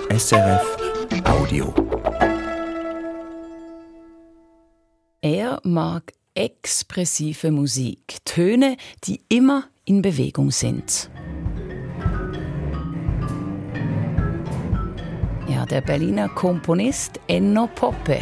SRF Audio. Er mag expressive Musik, Töne, die immer in Bewegung sind. Ja, der Berliner Komponist Enno Poppe.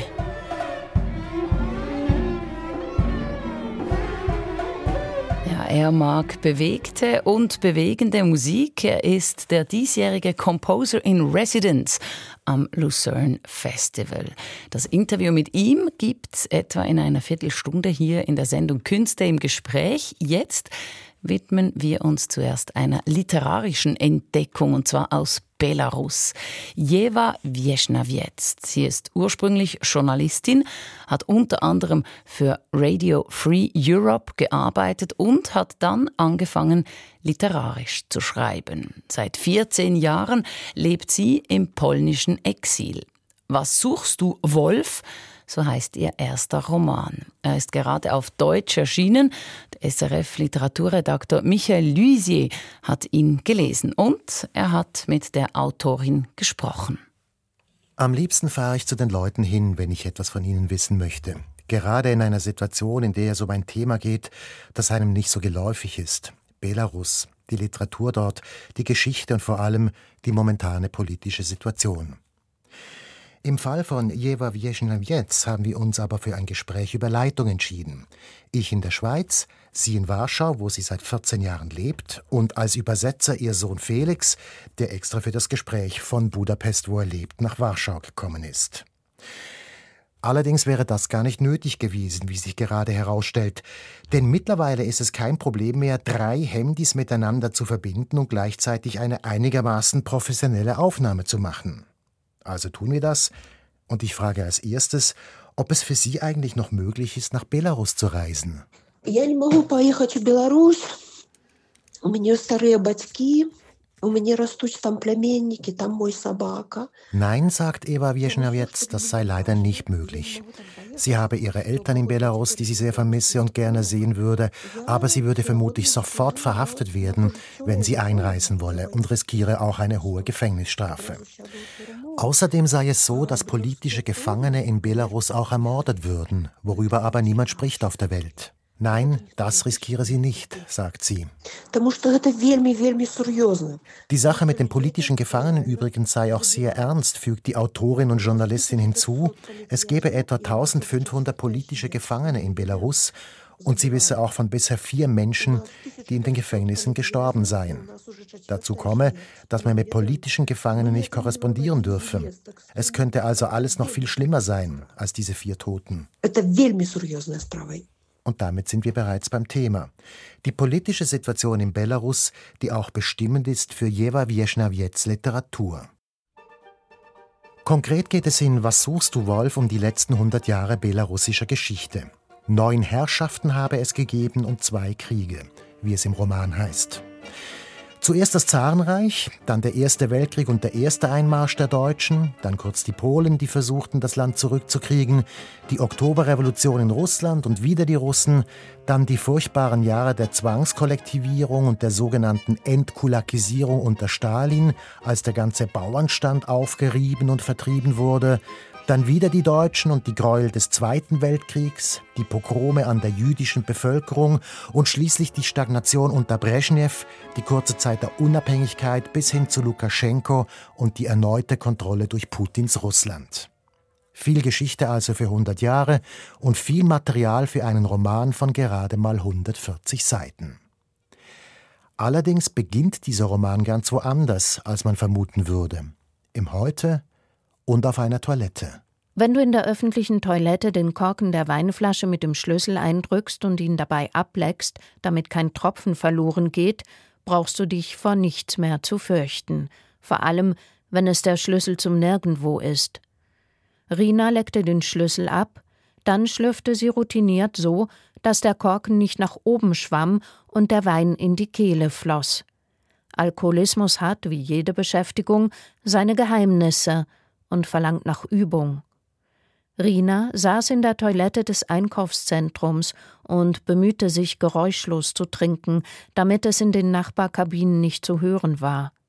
Er mag bewegte und bewegende Musik. Er ist der diesjährige Composer in Residence am Lucerne Festival. Das Interview mit ihm gibt's etwa in einer Viertelstunde hier in der Sendung Künste im Gespräch. Jetzt widmen wir uns zuerst einer literarischen Entdeckung, und zwar aus Belarus. Jewa Wiesnawiec. Sie ist ursprünglich Journalistin, hat unter anderem für Radio Free Europe gearbeitet und hat dann angefangen, literarisch zu schreiben. Seit 14 Jahren lebt sie im polnischen Exil. Was suchst du, Wolf? So heißt ihr erster Roman. Er ist gerade auf Deutsch erschienen. Der SRF-Literaturredakteur Michael Luisier hat ihn gelesen und er hat mit der Autorin gesprochen. Am liebsten fahre ich zu den Leuten hin, wenn ich etwas von ihnen wissen möchte. Gerade in einer Situation, in der es um ein Thema geht, das einem nicht so geläufig ist. Belarus, die Literatur dort, die Geschichte und vor allem die momentane politische Situation. Im Fall von Jewa Wiesnawiec haben wir uns aber für ein Gespräch über Leitung entschieden. Ich in der Schweiz, sie in Warschau, wo sie seit 14 Jahren lebt, und als Übersetzer ihr Sohn Felix, der extra für das Gespräch von Budapest, wo er lebt, nach Warschau gekommen ist. Allerdings wäre das gar nicht nötig gewesen, wie sich gerade herausstellt. Denn mittlerweile ist es kein Problem mehr, 3 Handys miteinander zu verbinden und gleichzeitig eine einigermaßen professionelle Aufnahme zu machen. Also tun wir das, und ich frage als erstes, ob es für Sie eigentlich noch möglich ist, nach Belarus zu reisen. Я не могу поехать в Беларусь. У меня старые батьки. У меня растут там племянники, там мой собака. Nein, sagt Jewa Wiesnawiec, das sei leider nicht möglich. Sie habe ihre Eltern in Belarus, die sie sehr vermisse und gerne sehen würde, aber sie würde vermutlich sofort verhaftet werden, wenn sie einreisen wolle, und riskiere auch eine hohe Gefängnisstrafe. Außerdem sei es so, dass politische Gefangene in Belarus auch ermordet würden, worüber aber niemand spricht auf der Welt. Nein, das riskiere sie nicht, sagt sie. Die Sache mit den politischen Gefangenen übrigens sei auch sehr ernst, fügt die Autorin und Journalistin hinzu. Es gebe etwa 1500 politische Gefangene in Belarus und sie wisse auch von bisher 4 Menschen, die in den Gefängnissen gestorben seien. Dazu komme, dass man mit politischen Gefangenen nicht korrespondieren dürfe. Es könnte also alles noch viel schlimmer sein als diese 4 Toten. Und damit sind wir bereits beim Thema. Die politische Situation in Belarus, die auch bestimmend ist für Jewa Wiesnawiec Literatur. Konkret geht es in Was suchst du, Wolf? Um die letzten 100 Jahre belarussischer Geschichte. 9 Herrschaften habe es gegeben und 2 Kriege, wie es im Roman heißt. Zuerst das Zarenreich, dann der Erste Weltkrieg und der erste Einmarsch der Deutschen, dann kurz die Polen, die versuchten, das Land zurückzukriegen, die Oktoberrevolution in Russland und wieder die Russen, dann die furchtbaren Jahre der Zwangskollektivierung und der sogenannten Entkulakisierung unter Stalin, als der ganze Bauernstand aufgerieben und vertrieben wurde, dann wieder die Deutschen und die Gräuel des Zweiten Weltkriegs, die Pogrome an der jüdischen Bevölkerung und schließlich die Stagnation unter Breschnew, die kurze Zeit der Unabhängigkeit bis hin zu Lukaschenko und die erneute Kontrolle durch Putins Russland. Viel Geschichte also für 100 Jahre und viel Material für einen Roman von gerade mal 140 Seiten. Allerdings beginnt dieser Roman ganz woanders, als man vermuten würde. Im Heute und auf einer Toilette. Wenn du in der öffentlichen Toilette den Korken der Weinflasche mit dem Schlüssel eindrückst und ihn dabei ableckst, damit kein Tropfen verloren geht, brauchst du dich vor nichts mehr zu fürchten. Vor allem, wenn es der Schlüssel zum Nirgendwo ist. Rina leckte den Schlüssel ab, dann schlürfte sie routiniert so, dass der Korken nicht nach oben schwamm und der Wein in die Kehle floss. Alkoholismus hat, wie jede Beschäftigung, seine Geheimnisse und verlangt nach Übung. Rina saß in der Toilette des Einkaufszentrums und bemühte sich, geräuschlos zu trinken, damit es in den Nachbarkabinen nicht zu hören war.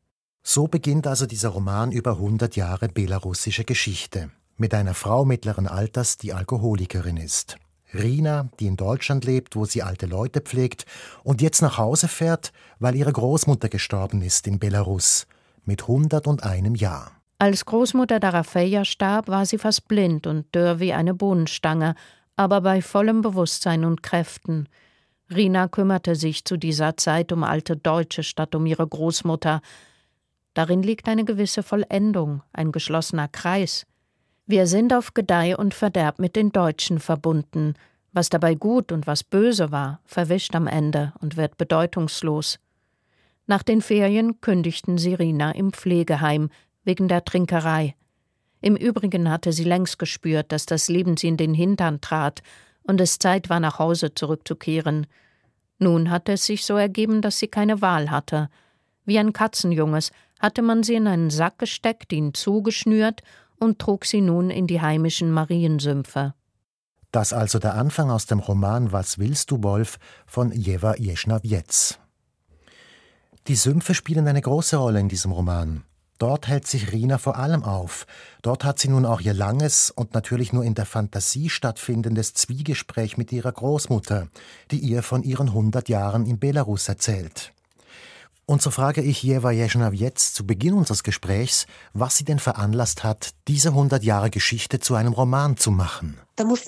So beginnt also dieser Roman über 100 Jahre belarussische Geschichte. Mit einer Frau mittleren Alters, die Alkoholikerin ist. Rina, die in Deutschland lebt, wo sie alte Leute pflegt und jetzt nach Hause fährt, weil ihre Großmutter gestorben ist in Belarus. Mit 101 Jahr. Als Großmutter Darafeja starb, war sie fast blind und dürr wie eine Bohnenstange, aber bei vollem Bewusstsein und Kräften. Rina kümmerte sich zu dieser Zeit um alte Deutsche statt um ihre Großmutter. Darin liegt eine gewisse Vollendung, ein geschlossener Kreis. Wir sind auf Gedeih und Verderb mit den Deutschen verbunden. Was dabei gut und was böse war, verwischt am Ende und wird bedeutungslos. Nach den Ferien kündigten sie Rina im Pflegeheim, wegen der Trinkerei. Im Übrigen hatte sie längst gespürt, dass das Leben sie in den Hintern trat und es Zeit war, nach Hause zurückzukehren. Nun hatte es sich so ergeben, dass sie keine Wahl hatte. Wie ein Katzenjunges hatte man sie in einen Sack gesteckt, ihn zugeschnürt und trug sie nun in die heimischen Mariensümpfe. Das also der Anfang aus dem Roman »Was willst du, Wolf« von Ewa Jesnawiec. Die Sümpfe spielen eine große Rolle in diesem Roman. Dort hält sich Rina vor allem auf. Dort hat sie nun auch ihr langes und natürlich nur in der Fantasie stattfindendes Zwiegespräch mit ihrer Großmutter, die ihr von ihren 100 Jahren in Belarus erzählt. Und so frage ich Ewa Jesnawiec zu Beginn unseres Gesprächs, was sie denn veranlasst hat, diese 100 Jahre Geschichte zu einem Roman zu machen.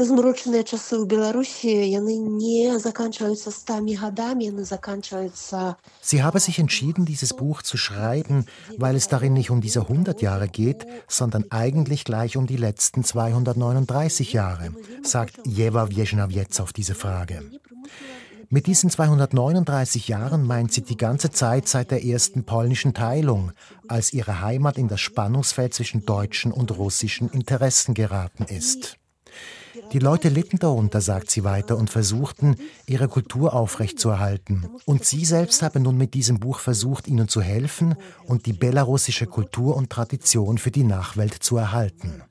Sie habe sich entschieden, dieses Buch zu schreiben, weil es darin nicht um diese 100 Jahre geht, sondern eigentlich gleich um die letzten 239 Jahre, sagt Ewa Jesnawiec auf diese Frage. Mit diesen 239 Jahren meint sie die ganze Zeit seit der ersten polnischen Teilung, als ihre Heimat in das Spannungsfeld zwischen deutschen und russischen Interessen geraten ist. Die Leute litten darunter, sagt sie weiter, und versuchten, ihre Kultur aufrechtzuerhalten. Und sie selbst habe nun mit diesem Buch versucht, ihnen zu helfen und die belarussische Kultur und Tradition für die Nachwelt zu erhalten.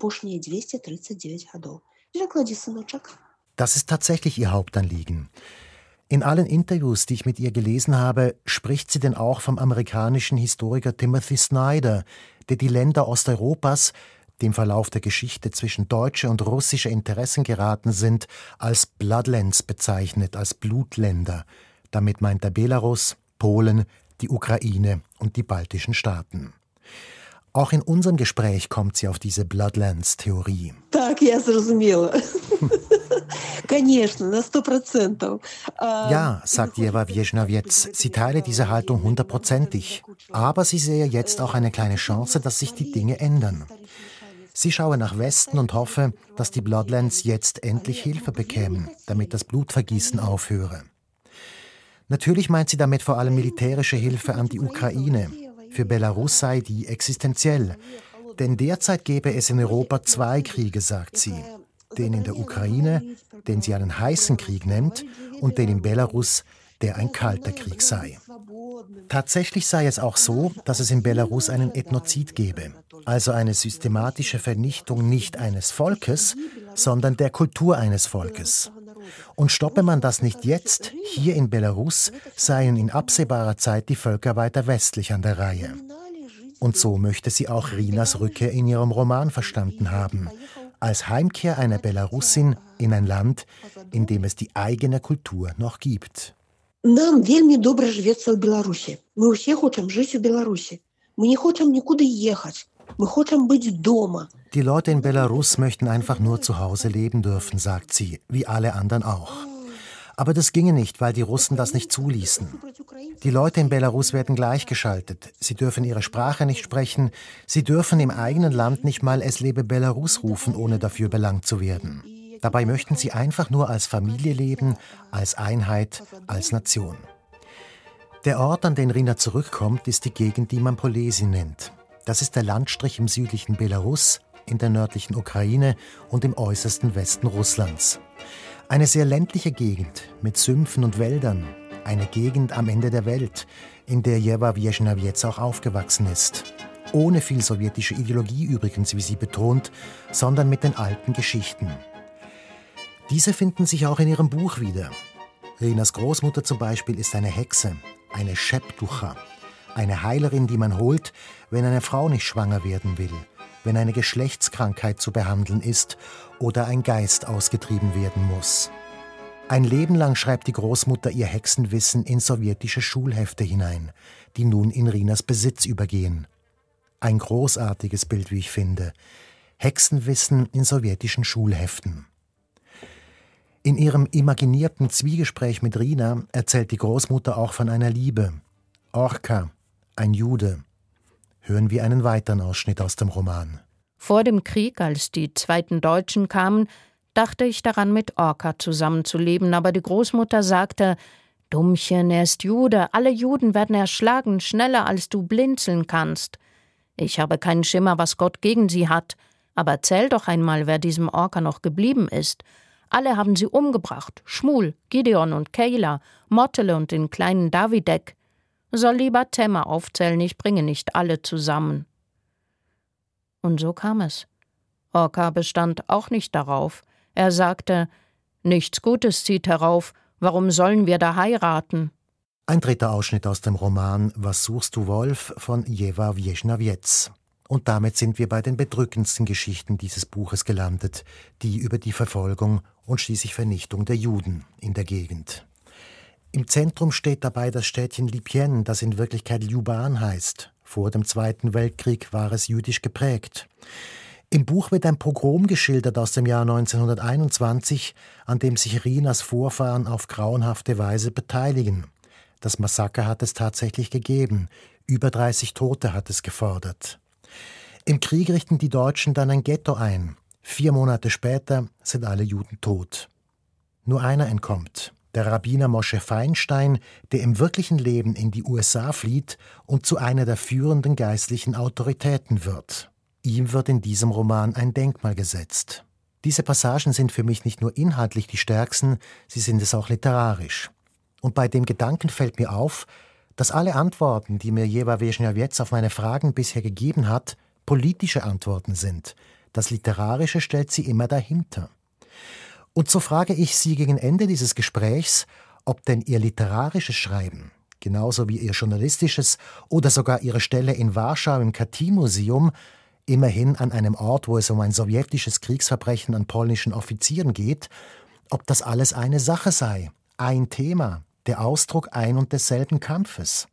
Das ist tatsächlich ihr Hauptanliegen. In allen Interviews, die ich mit ihr gelesen habe, spricht sie denn auch vom amerikanischen Historiker Timothy Snyder, der die Länder Osteuropas, die im Verlauf der Geschichte zwischen deutsche und russische Interessen geraten sind, als Bloodlands bezeichnet, als Blutländer. Damit meint er Belarus, Polen, die Ukraine und die baltischen Staaten. Auch in unserem Gespräch kommt sie auf diese Bloodlands-Theorie. Ja, sagt Ewa Jesnawiec, sie teile diese Haltung 100%. Aber sie sehe jetzt auch eine kleine Chance, dass sich die Dinge ändern. Sie schaue nach Westen und hoffe, dass die Bloodlands jetzt endlich Hilfe bekämen, damit das Blutvergießen aufhöre. Natürlich meint sie damit vor allem militärische Hilfe an die Ukraine. Für Belarus sei die existenziell. Denn derzeit gäbe es in Europa 2 Kriege, sagt sie. Den in der Ukraine, den sie einen heißen Krieg nennt, und den in Belarus, der ein kalter Krieg sei. Tatsächlich sei es auch so, dass es in Belarus einen Ethnozid gebe, also eine systematische Vernichtung nicht eines Volkes, sondern der Kultur eines Volkes. Und stoppe man das nicht jetzt, hier in Belarus, seien in absehbarer Zeit die Völker weiter westlich an der Reihe. Und so möchte sie auch Rinas Rückkehr in ihrem Roman verstanden haben, als Heimkehr einer Belarusin in ein Land, in dem es die eigene Kultur noch gibt. Нам вельми добре живеться в Білорусі. Ми всі хочемо жити в Білорусі. Ми не хочемо нікуди їхати. Ми хочемо бути вдома. Die Leute in Belarus möchten einfach nur zu Hause leben dürfen, sagt sie, wie alle anderen auch. Aber das ginge nicht, weil die Russen das nicht zuließen. Die Leute in Belarus werden gleichgeschaltet. Sie dürfen ihre Sprache nicht sprechen. Sie dürfen im eigenen Land nicht mal »Es lebe Belarus« rufen, ohne dafür belangt zu werden. Dabei möchten sie einfach nur als Familie leben, als Einheit, als Nation. Der Ort, an den Rina zurückkommt, ist die Gegend, die man Polesi nennt. Das ist der Landstrich im südlichen Belarus, in der nördlichen Ukraine und im äußersten Westen Russlands. Eine sehr ländliche Gegend mit Sümpfen und Wäldern. Eine Gegend am Ende der Welt, in der Ewa Jesnawiec auch aufgewachsen ist. Ohne viel sowjetische Ideologie übrigens, wie sie betont, sondern mit den alten Geschichten. Diese finden sich auch in ihrem Buch wieder. Rinas Großmutter zum Beispiel ist eine Hexe, eine Sheptucha, Eine Heilerin, die man holt, wenn eine Frau nicht schwanger werden will, wenn eine Geschlechtskrankheit zu behandeln ist oder ein Geist ausgetrieben werden muss. Ein Leben lang schreibt die Großmutter ihr Hexenwissen in sowjetische Schulhefte hinein, die nun in Rinas Besitz übergehen. Ein großartiges Bild, wie ich finde. Hexenwissen in sowjetischen Schulheften. In ihrem imaginierten Zwiegespräch mit Rina erzählt die Großmutter auch von einer Liebe. Orka, ein Jude. Hören wir einen weiteren Ausschnitt aus dem Roman. Vor dem Krieg, als die zweiten Deutschen kamen, dachte ich daran, mit Orka zusammenzuleben, aber die Großmutter sagte: »Dummchen, er ist Jude, alle Juden werden erschlagen, schneller als du blinzeln kannst. Ich habe keinen Schimmer, was Gott gegen sie hat, aber erzähl doch einmal, wer diesem Orka noch geblieben ist. Alle haben sie umgebracht, Schmuel, Gideon und Kejla, Mottele und den kleinen Davidek. Soll lieber Temmer aufzählen, ich bringe nicht alle zusammen.« Und so kam es. Orka bestand auch nicht darauf. Er sagte: »Nichts Gutes zieht herauf, warum sollen wir da heiraten?« Ein dritter Ausschnitt aus dem Roman »Was suchst du, Wolf« von Ewa Wiesnawiec. Und damit sind wir bei den bedrückendsten Geschichten dieses Buches gelandet, die über die Verfolgung und schließlich Vernichtung der Juden in der Gegend. Im Zentrum steht dabei das Städtchen Lipien, das in Wirklichkeit Ljuban heißt. Vor dem Zweiten Weltkrieg war es jüdisch geprägt. Im Buch wird ein Pogrom geschildert aus dem Jahr 1921, an dem sich Rinas Vorfahren auf grauenhafte Weise beteiligen. Das Massaker hat es tatsächlich gegeben. Über 30 Tote hat es gefordert. Im Krieg richten die Deutschen dann ein Ghetto ein. 4 Monate später sind alle Juden tot. Nur einer entkommt. Der Rabbiner Moshe Feinstein, der im wirklichen Leben in die USA flieht und zu einer der führenden geistlichen Autoritäten wird. Ihm wird in diesem Roman ein Denkmal gesetzt. Diese Passagen sind für mich nicht nur inhaltlich die stärksten, sie sind es auch literarisch. Und bei dem Gedanken fällt mir auf, dass alle Antworten, die mir Ewa Wiesnawiec auf meine Fragen bisher gegeben hat, politische Antworten sind. Das Literarische stellt sie immer dahinter. Und so frage ich Sie gegen Ende dieses Gesprächs, ob denn Ihr literarisches Schreiben, genauso wie Ihr journalistisches oder sogar Ihre Stelle in Warschau im Katyń-Museum, immerhin an einem Ort, wo es um ein sowjetisches Kriegsverbrechen an polnischen Offizieren geht, ob das alles eine Sache sei, ein Thema, der Ausdruck ein und desselben Kampfes.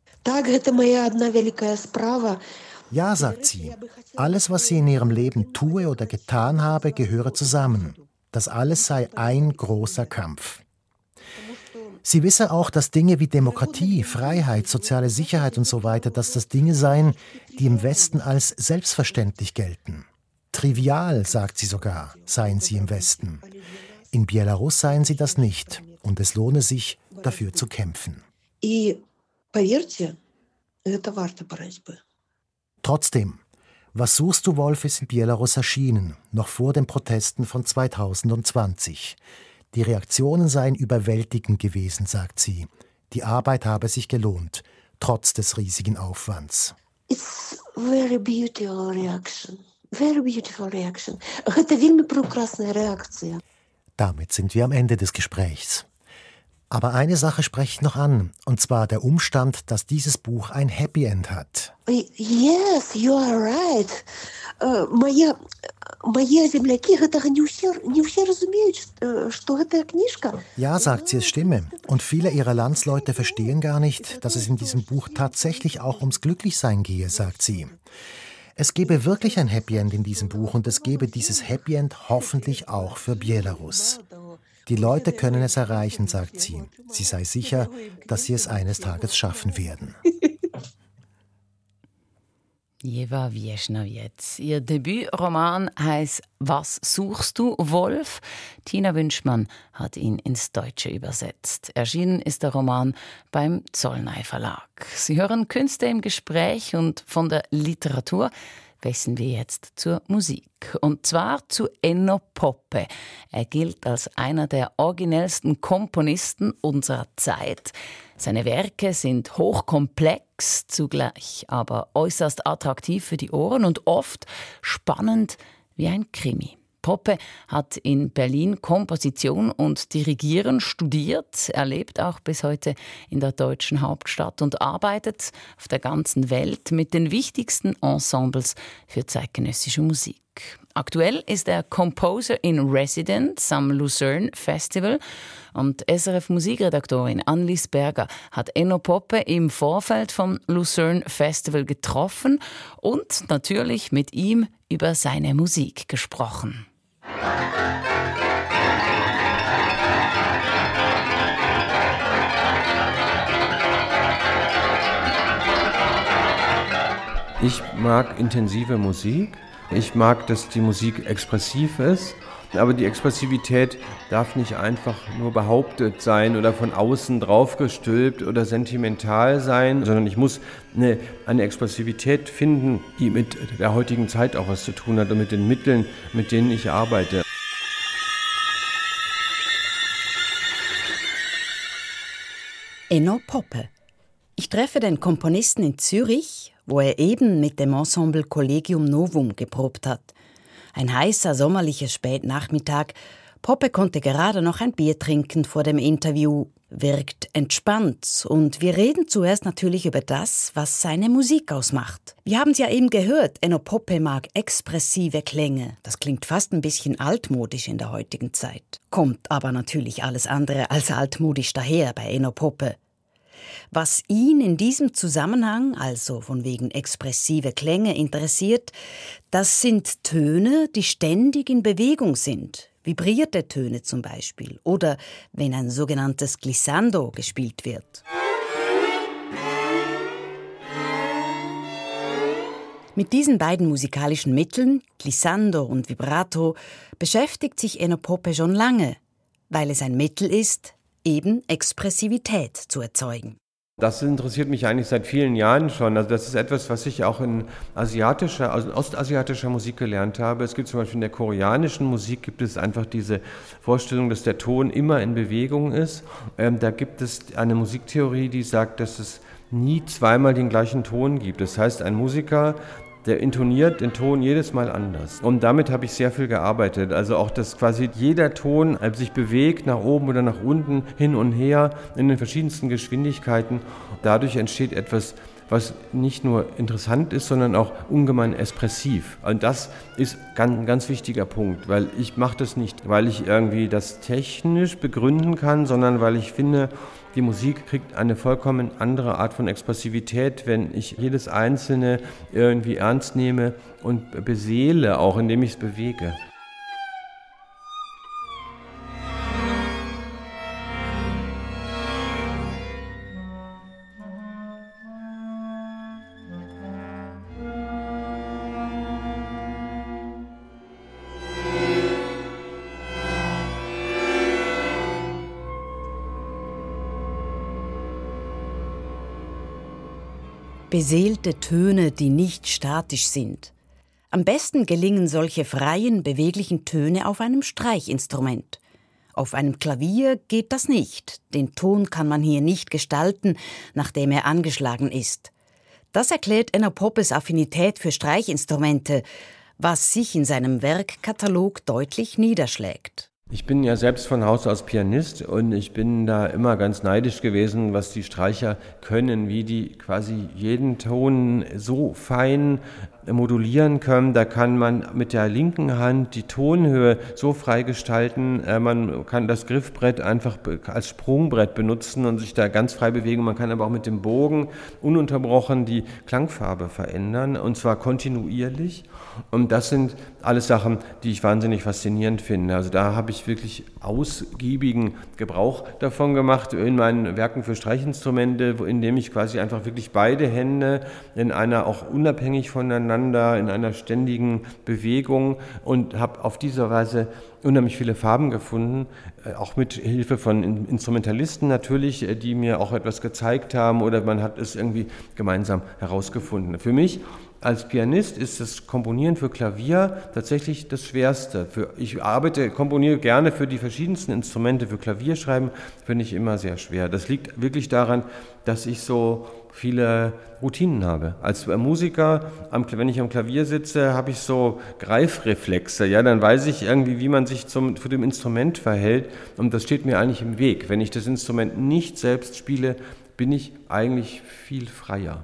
Ja, sagt sie, alles, was sie in ihrem Leben tue oder getan habe, gehöre zusammen. Das alles sei ein großer Kampf. Sie wisse auch, dass Dinge wie Demokratie, Freiheit, soziale Sicherheit und so weiter, dass das Dinge seien, die im Westen als selbstverständlich gelten. Trivial, sagt sie sogar, seien sie im Westen. In Belarus seien sie das nicht und es lohne sich, dafür zu kämpfen. Trotzdem, Was suchst du, Wolf, ist in Belarus erschienen, noch vor den Protesten von 2020. Die Reaktionen seien überwältigend gewesen, sagt sie. Die Arbeit habe sich gelohnt, trotz des riesigen Aufwands. It's very beautiful reaction. Very beautiful reaction. Это вельми прекрасная реакция. Damit sind wir am Ende des Gesprächs. Aber eine Sache spreche ich noch an, und zwar der Umstand, dass dieses Buch ein Happy End hat. Yes, you are right. Мои земляки гэтага не ўсе разумеюць, што гэтая кніжка. Ja, sagt sie, es stimme. Und viele ihrer Landsleute verstehen gar nicht, dass es in diesem Buch tatsächlich auch ums Glücklichsein gehe, sagt sie. Es gebe wirklich ein Happy End in diesem Buch und es gebe dieses Happy End hoffentlich auch für Belarus. Die Leute können es erreichen, sagt sie. Sie sei sicher, dass sie es eines Tages schaffen werden. Ewa Wiesnawiec. Ihr Debütroman heißt »Was suchst du, Wolf?« Tina Wünschmann hat ihn ins Deutsche übersetzt. Erschienen ist der Roman beim Zollnay Verlag. Sie hören Künste im Gespräch und von der Literatur wechseln wir jetzt zur Musik. Und zwar zu Enno Poppe. Er gilt als einer der originellsten Komponisten unserer Zeit. Seine Werke sind hochkomplex, zugleich aber äußerst attraktiv für die Ohren und oft spannend wie ein Krimi. Poppe hat in Berlin Komposition und Dirigieren studiert. Er lebt auch bis heute in der deutschen Hauptstadt und arbeitet auf der ganzen Welt mit den wichtigsten Ensembles für zeitgenössische Musik. Aktuell ist er Composer in Residence am Lucerne Festival und SRF-Musikredaktorin Annelies Berger hat Enno Poppe im Vorfeld vom Lucerne Festival getroffen und natürlich mit ihm über seine Musik gesprochen. Ich mag intensive Musik. Ich mag, dass die Musik expressiv ist, aber die Expressivität darf nicht einfach nur behauptet sein oder von außen draufgestülpt oder sentimental sein, sondern ich muss eine Expressivität finden, die mit der heutigen Zeit auch was zu tun hat und mit den Mitteln, mit denen ich arbeite. Enno Poppe. Ich treffe den Komponisten in Zürich, wo er eben mit dem Ensemble Collegium Novum geprobt hat. Ein heißer, sommerlicher Spätnachmittag. Poppe konnte gerade noch ein Bier trinken vor dem Interview, wirkt entspannt und wir reden zuerst natürlich über das, was seine Musik ausmacht. Wir haben es ja eben gehört, Enno Poppe mag expressive Klänge. Das klingt fast ein bisschen altmodisch in der heutigen Zeit. Kommt aber natürlich alles andere als altmodisch daher bei Enno Poppe. Was ihn in diesem Zusammenhang, also von wegen expressive Klänge, interessiert, das sind Töne, die ständig in Bewegung sind. Vibrierte Töne zum Beispiel. Oder wenn ein sogenanntes Glissando gespielt wird. Mit diesen beiden musikalischen Mitteln, Glissando und Vibrato, beschäftigt sich Enno Poppe schon lange, weil es ein Mittel ist, eben Expressivität zu erzeugen. Das interessiert mich eigentlich seit vielen Jahren schon. Also das ist etwas, was ich auch in ostasiatischer Musik gelernt habe. Es gibt zum Beispiel in der koreanischen Musik gibt es einfach diese Vorstellung, dass der Ton immer in Bewegung ist. Da gibt es eine Musiktheorie, die sagt, dass es nie zweimal den gleichen Ton gibt. Das heißt, ein Musiker, der intoniert den Ton jedes Mal anders. Und damit habe ich sehr viel gearbeitet. Also auch, dass quasi jeder Ton sich bewegt, nach oben oder nach unten, hin und her, in den verschiedensten Geschwindigkeiten. Dadurch entsteht etwas, was nicht nur interessant ist, sondern auch ungemein expressiv. Und das ist ein ganz wichtiger Punkt, weil ich mache das nicht, weil ich irgendwie das technisch begründen kann, sondern weil ich finde, die Musik kriegt eine vollkommen andere Art von Expressivität, wenn ich jedes Einzelne irgendwie ernst nehme und beseele, auch indem ich es bewege. Beseelte Töne, die nicht statisch sind. Am besten gelingen solche freien, beweglichen Töne auf einem Streichinstrument. Auf einem Klavier geht das nicht. Den Ton kann man hier nicht gestalten, nachdem er angeschlagen ist. Das erklärt Enno Poppes Affinität für Streichinstrumente, was sich in seinem Werkkatalog deutlich niederschlägt. Ich bin ja selbst von Haus aus Pianist und ich bin da immer ganz neidisch gewesen, was die Streicher können, wie die quasi jeden Ton so fein modulieren können. Da kann man mit der linken Hand die Tonhöhe so frei gestalten. Man kann das Griffbrett einfach als Sprungbrett benutzen und sich da ganz frei bewegen. Man kann aber auch mit dem Bogen ununterbrochen die Klangfarbe verändern und zwar kontinuierlich. Und das sind alles Sachen, die ich wahnsinnig faszinierend finde. Also da habe ich wirklich ausgiebigen Gebrauch davon gemacht in meinen Werken für Streichinstrumente, indem ich quasi einfach wirklich beide Hände in einer auch unabhängig voneinander, in einer ständigen Bewegung und habe auf diese Weise unheimlich viele Farben gefunden, auch mit Hilfe von Instrumentalisten natürlich, die mir auch etwas gezeigt haben oder man hat es irgendwie gemeinsam herausgefunden. Für mich als Pianist ist das Komponieren für Klavier tatsächlich das Schwerste. Ich komponiere gerne für die verschiedensten Instrumente. Für Klavier schreiben finde ich immer sehr schwer. Das liegt wirklich daran, dass ich so viele Routinen habe. Als Musiker, wenn ich am Klavier sitze, habe ich so Greifreflexe. Ja, dann weiß ich irgendwie, wie man sich zu dem Instrument verhält. Und das steht mir eigentlich im Weg. Wenn ich das Instrument nicht selbst spiele, bin ich eigentlich viel freier.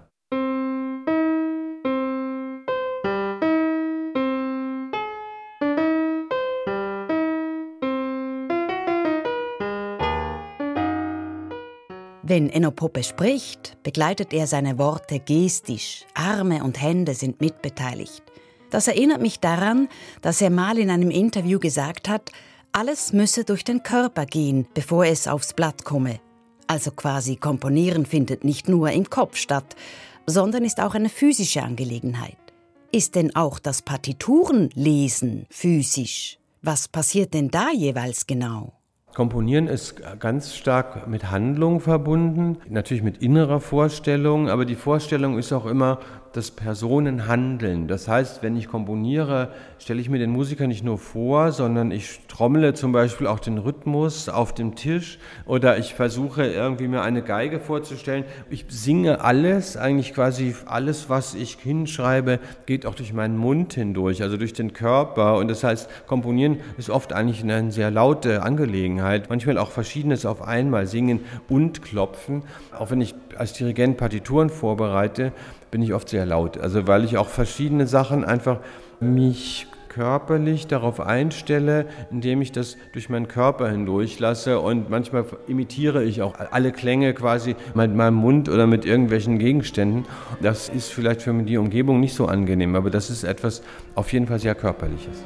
Wenn Enno Poppe spricht, begleitet er seine Worte gestisch. Arme und Hände sind mitbeteiligt. Das erinnert mich daran, dass er mal in einem Interview gesagt hat, alles müsse durch den Körper gehen, bevor es aufs Blatt komme. Also quasi Komponieren findet nicht nur im Kopf statt, sondern ist auch eine physische Angelegenheit. Ist denn auch das Partiturenlesen physisch? Was passiert denn da jeweils genau? Komponieren ist ganz stark mit Handlung verbunden, natürlich mit innerer Vorstellung, aber die Vorstellung ist auch immer das Personenhandeln. Das heißt, wenn ich komponiere, stelle ich mir den Musiker nicht nur vor, sondern ich trommle zum Beispiel auch den Rhythmus auf dem Tisch oder ich versuche irgendwie mir eine Geige vorzustellen. Ich singe alles, eigentlich quasi alles, was ich hinschreibe, geht auch durch meinen Mund hindurch, also durch den Körper. Und das heißt, Komponieren ist oft eigentlich eine sehr laute Angelegenheit. Manchmal auch Verschiedenes auf einmal, singen und klopfen. Auch wenn ich als Dirigent Partituren vorbereite, bin ich oft sehr laut. Also weil ich auch verschiedene Sachen einfach mich körperlich darauf einstelle, indem ich das durch meinen Körper hindurch lasse und manchmal imitiere ich auch alle Klänge quasi mit meinem Mund oder mit irgendwelchen Gegenständen. Das ist vielleicht für die Umgebung nicht so angenehm, aber das ist etwas auf jeden Fall sehr Körperliches.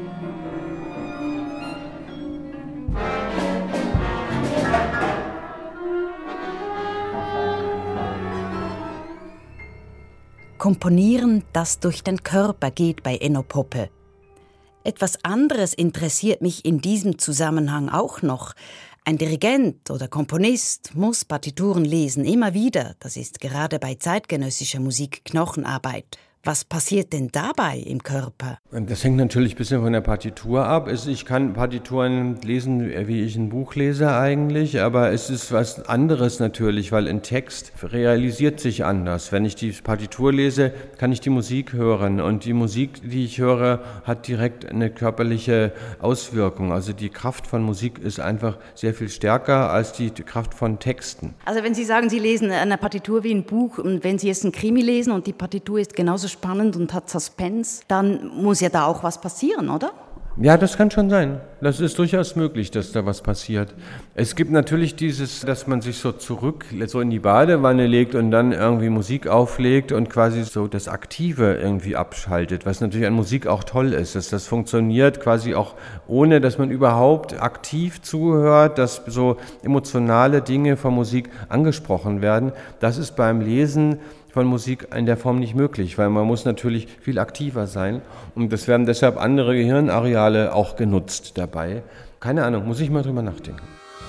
Komponieren, das durch den Körper geht bei Enno Poppe. Etwas anderes interessiert mich in diesem Zusammenhang auch noch. Ein Dirigent oder Komponist muss Partituren lesen, immer wieder. Das ist gerade bei zeitgenössischer Musik Knochenarbeit. Was passiert denn dabei im Körper? Das hängt natürlich ein bisschen von der Partitur ab. Ich kann Partituren lesen, wie ich ein Buch lese eigentlich, aber es ist was anderes natürlich, weil ein Text realisiert sich anders. Wenn ich die Partitur lese, kann ich die Musik hören und die Musik, die ich höre, hat direkt eine körperliche Auswirkung. Also die Kraft von Musik ist einfach sehr viel stärker als die Kraft von Texten. Also wenn Sie sagen, Sie lesen eine Partitur wie ein Buch und wenn Sie jetzt ein Krimi lesen und die Partitur ist genauso spannend und hat Suspense, dann muss ja da auch was passieren, oder? Ja, das kann schon sein. Das ist durchaus möglich, dass da was passiert. Es gibt natürlich dieses, dass man sich so in die Badewanne legt und dann irgendwie Musik auflegt und quasi so das Aktive irgendwie abschaltet, was natürlich an Musik auch toll ist, dass das funktioniert quasi auch ohne, dass man überhaupt aktiv zuhört, dass so emotionale Dinge von Musik angesprochen werden. Das ist beim Lesen von Musik in der Form nicht möglich, weil man muss natürlich viel aktiver sein und es werden deshalb andere Gehirnareale auch genutzt dabei. Keine Ahnung, muss ich mal drüber nachdenken.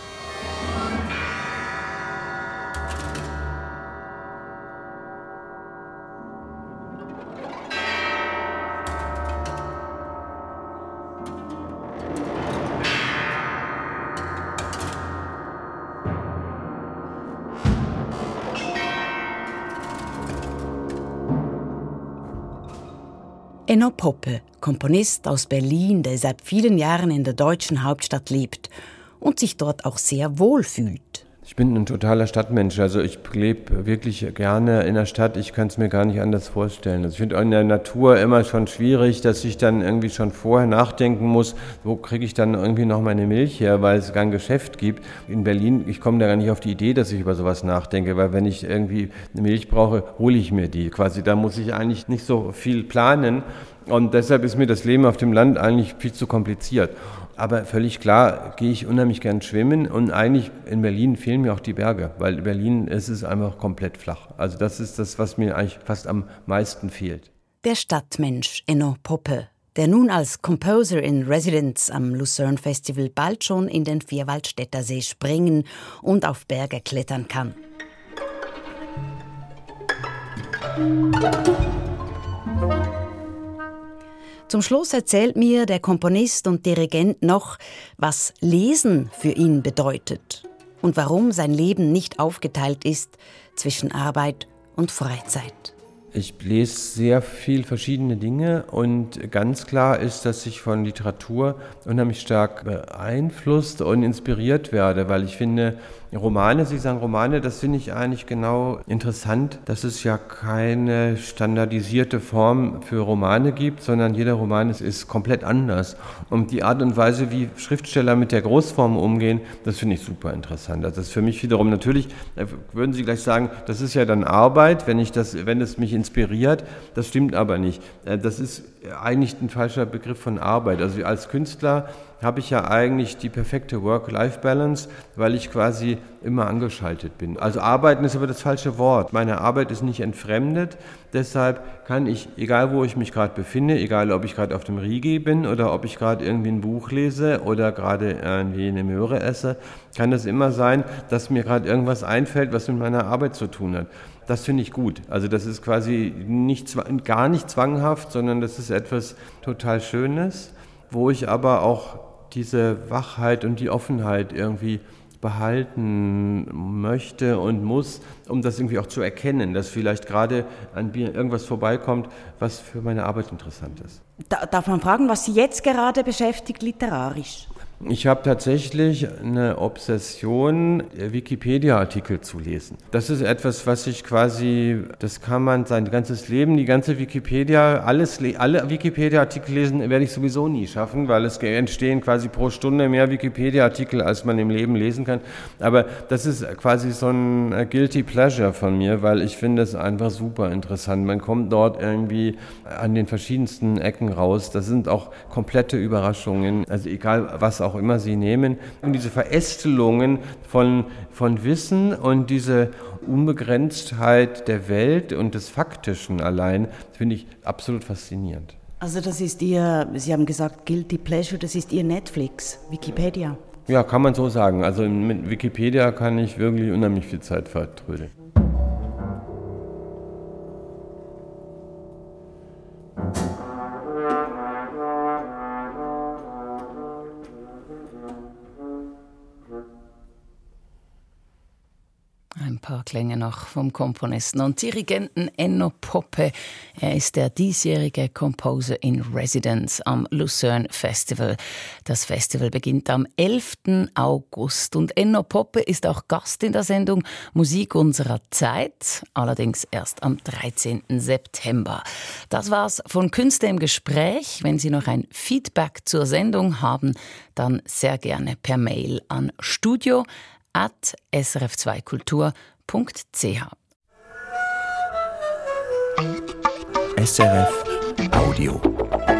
Enno Poppe, Komponist aus Berlin, der seit vielen Jahren in der deutschen Hauptstadt lebt und sich dort auch sehr wohl fühlt. Ich bin ein totaler Stadtmensch, also ich lebe wirklich gerne in der Stadt, ich kann es mir gar nicht anders vorstellen. Also ich finde in der Natur immer schon schwierig, dass ich dann irgendwie schon vorher nachdenken muss, wo kriege ich dann irgendwie noch meine Milch her, weil es kein Geschäft gibt. In Berlin, ich komme da gar nicht auf die Idee, dass ich über sowas nachdenke, weil wenn ich irgendwie eine Milch brauche, hole ich mir die quasi. Da muss ich eigentlich nicht so viel planen und deshalb ist mir das Leben auf dem Land eigentlich viel zu kompliziert. Aber völlig klar gehe ich unheimlich gern schwimmen und eigentlich in Berlin fehlen mir auch die Berge, weil in Berlin ist es einfach komplett flach. Also das ist das, was mir eigentlich fast am meisten fehlt. Der Stadtmensch Enno Poppe, der nun als Composer in Residence am Lucerne Festival bald schon in den Vierwaldstätter See springen und auf Berge klettern kann. Zum Schluss erzählt mir der Komponist und Dirigent noch, was Lesen für ihn bedeutet und warum sein Leben nicht aufgeteilt ist zwischen Arbeit und Freizeit. Ich lese sehr viel verschiedene Dinge und ganz klar ist, dass ich von Literatur unheimlich stark beeinflusst und inspiriert werde, weil ich finde, Romane, Sie sagen Romane, das finde ich eigentlich genau interessant, dass es ja keine standardisierte Form für Romane gibt, sondern jeder Roman ist komplett anders. Und die Art und Weise, wie Schriftsteller mit der Großform umgehen, das finde ich super interessant. Also das ist für mich wiederum natürlich, würden Sie gleich sagen, das ist ja dann Arbeit, wenn es mich inspiriert, das stimmt aber nicht. Das ist eigentlich ein falscher Begriff von Arbeit. Also als Künstler habe ich ja eigentlich die perfekte Work-Life-Balance, weil ich quasi immer angeschaltet bin. Also arbeiten ist aber das falsche Wort. Meine Arbeit ist nicht entfremdet, deshalb kann ich, egal wo ich mich gerade befinde, egal ob ich gerade auf dem Rigi bin oder ob ich gerade irgendwie ein Buch lese oder gerade irgendwie eine Möhre esse, kann es immer sein, dass mir gerade irgendwas einfällt, was mit meiner Arbeit zu tun hat. Das finde ich gut. Also das ist quasi gar nicht zwanghaft, sondern das ist etwas total Schönes, wo ich aber auch diese Wachheit und die Offenheit irgendwie behalten möchte und muss, um das irgendwie auch zu erkennen, dass vielleicht gerade an mir irgendwas vorbeikommt, was für meine Arbeit interessant ist. Darf man fragen, was Sie jetzt gerade beschäftigt literarisch? Ich habe tatsächlich eine Obsession, Wikipedia-Artikel zu lesen. Das ist etwas, was ich quasi, das kann man sein ganzes Leben, die ganze Wikipedia, alle Wikipedia-Artikel lesen, werde ich sowieso nie schaffen, weil es entstehen quasi pro Stunde mehr Wikipedia-Artikel, als man im Leben lesen kann. Aber das ist quasi so ein Guilty Pleasure von mir, weil ich finde es einfach super interessant. Man kommt dort irgendwie an den verschiedensten Ecken raus. Das sind auch komplette Überraschungen, also egal was auch immer Sie nehmen. Und diese Verästelungen von Wissen und diese Unbegrenztheit der Welt und des Faktischen allein, finde ich absolut faszinierend. Also das ist Ihr, Sie haben gesagt Guilty Pleasure, das ist Ihr Netflix, Wikipedia. Ja, kann man so sagen. Also mit Wikipedia kann ich wirklich unheimlich viel Zeit vertrödeln. Ein paar Klänge noch vom Komponisten und Dirigenten Enno Poppe. Er ist der diesjährige Composer in Residence am Lucerne Festival. Das Festival beginnt am 11. August und Enno Poppe ist auch Gast in der Sendung Musik unserer Zeit, allerdings erst am 13. September. Das war's von Künste im Gespräch. Wenn Sie noch ein Feedback zur Sendung haben, dann sehr gerne per Mail an studio@srf2kultur.ch. SRF Audio.